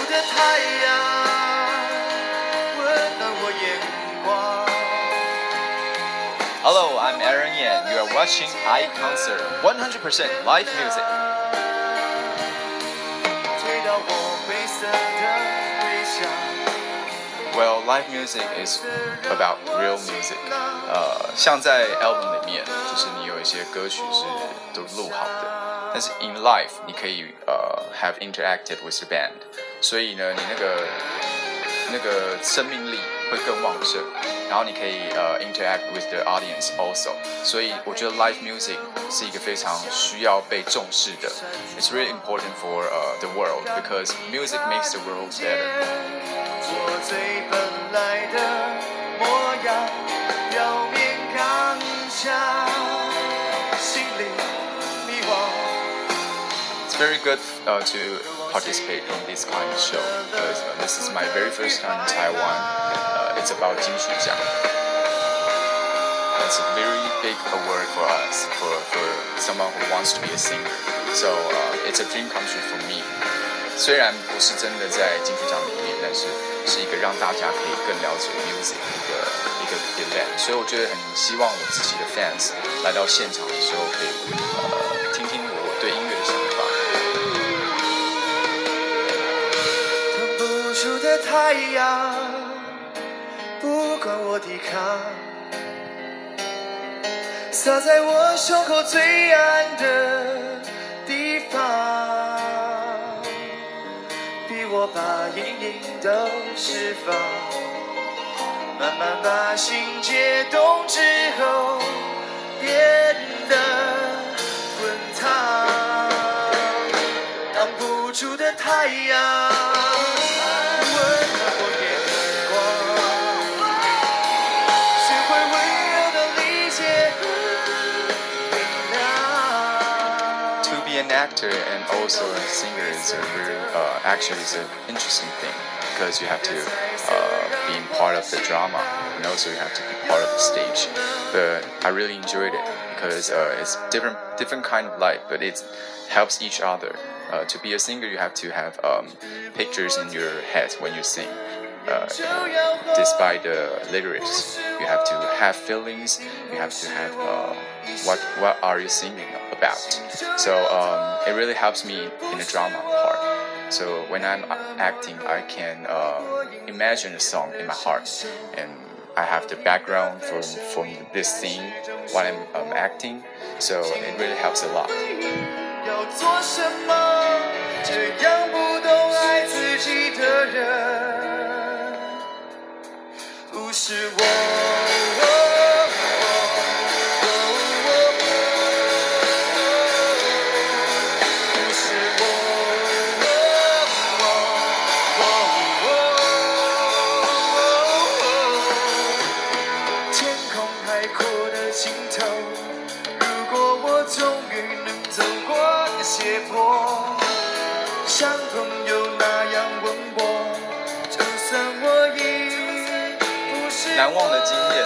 的太阳温暖我眼光。 Hello, I'm Aaron Yan. You are watching iConcert 100% live music. 追到我灰色的微笑。 Well, live music is about real music. 像在 album 里面，就是你有一些歌曲是都录好的，但是 in live 你可以have interacted with the band， 所以呢，你那个生命力会更旺盛，然后你可以interact with the audience also， 所以我觉得 live music 是一个非常需要被重视的。It's really important for the world because music makes the world better. 我最本来的模样，表面刚强，心里迷惘。 It's very good to participate in this kind of show because this is my very first time in Taiwan. It's about 金曲奖. It's a very big award for us, for someone who wants to be a singer. So it's a dream come true for me. 虽然不是真的在金曲奖里面，但是是一个让大家可以更了解 music 一个 event， 所以我觉得很希望我自己的 fans 来到现场的时候，可以听听我对音乐的想法。 腾不出的太阳，不管我抵抗，洒在我胸口最暗的地方。 我把阴影都释放，慢慢把心解冻之后，变得滚烫。挡不住的太阳，温暖我眼光，学会温柔的理解和原谅。 To be an actor and also a singer is a very actually is an interesting thing because you have to be part of the drama and also you have to be part of the stage. But I really enjoyed it because it's different kind of life, but it helps each other. To be a singer, you have to have pictures in your head when you sing. Despite the lyrics, you have to have feelings. You have to have what are you singing about. So it really helps me in the drama part. So when I'm acting, I can imagine a song in my heart, and I have the background from this scene while I'm acting. So it really helps a lot. 要做什么？这样不懂爱自己的人，不是我。 胁迫，像朋友那样问我，就算我已不是难忘的经验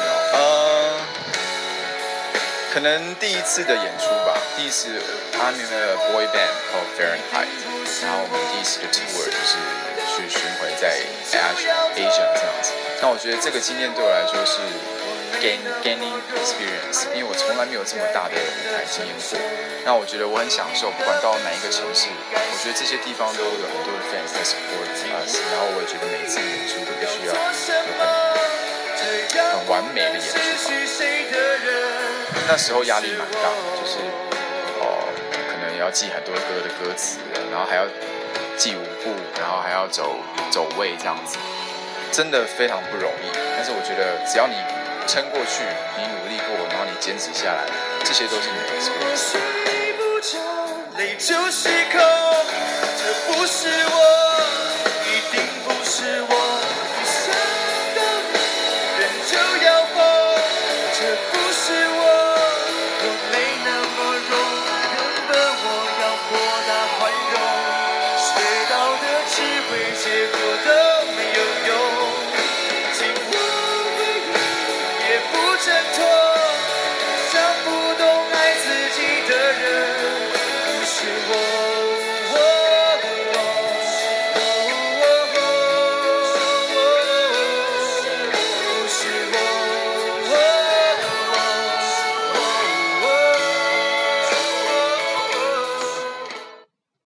可能第一次的演出吧，第一次 I'm in a boy band called Fahrenheit， 然后我们第一次的 tour 就是去巡回在 Asia 这样子。那我觉得这个经验对我来说是 gaining experience， 因为我从来没有这么大的舞台经验过。那我觉得我很享受，不管到哪一个城市，我觉得这些地方都有很多的 fans 在 support us， 然后我也觉得每一次演出都必须要有很完美的演出吧。那时候压力蛮大的，就是可能要记很多歌的歌词，然后还要记舞步，然后还要走位这样子，真的非常不容易。但是我觉得只要你撑过去，你努力过，然后你坚持下来，这些都是你的 experience。 泪就失控，这不是我，一定不是我。遇上的人就要疯，这不是我，我没那么容。原本我要豁达宽容，学到的智慧，结果都没有用。紧握回忆，也不挣脱。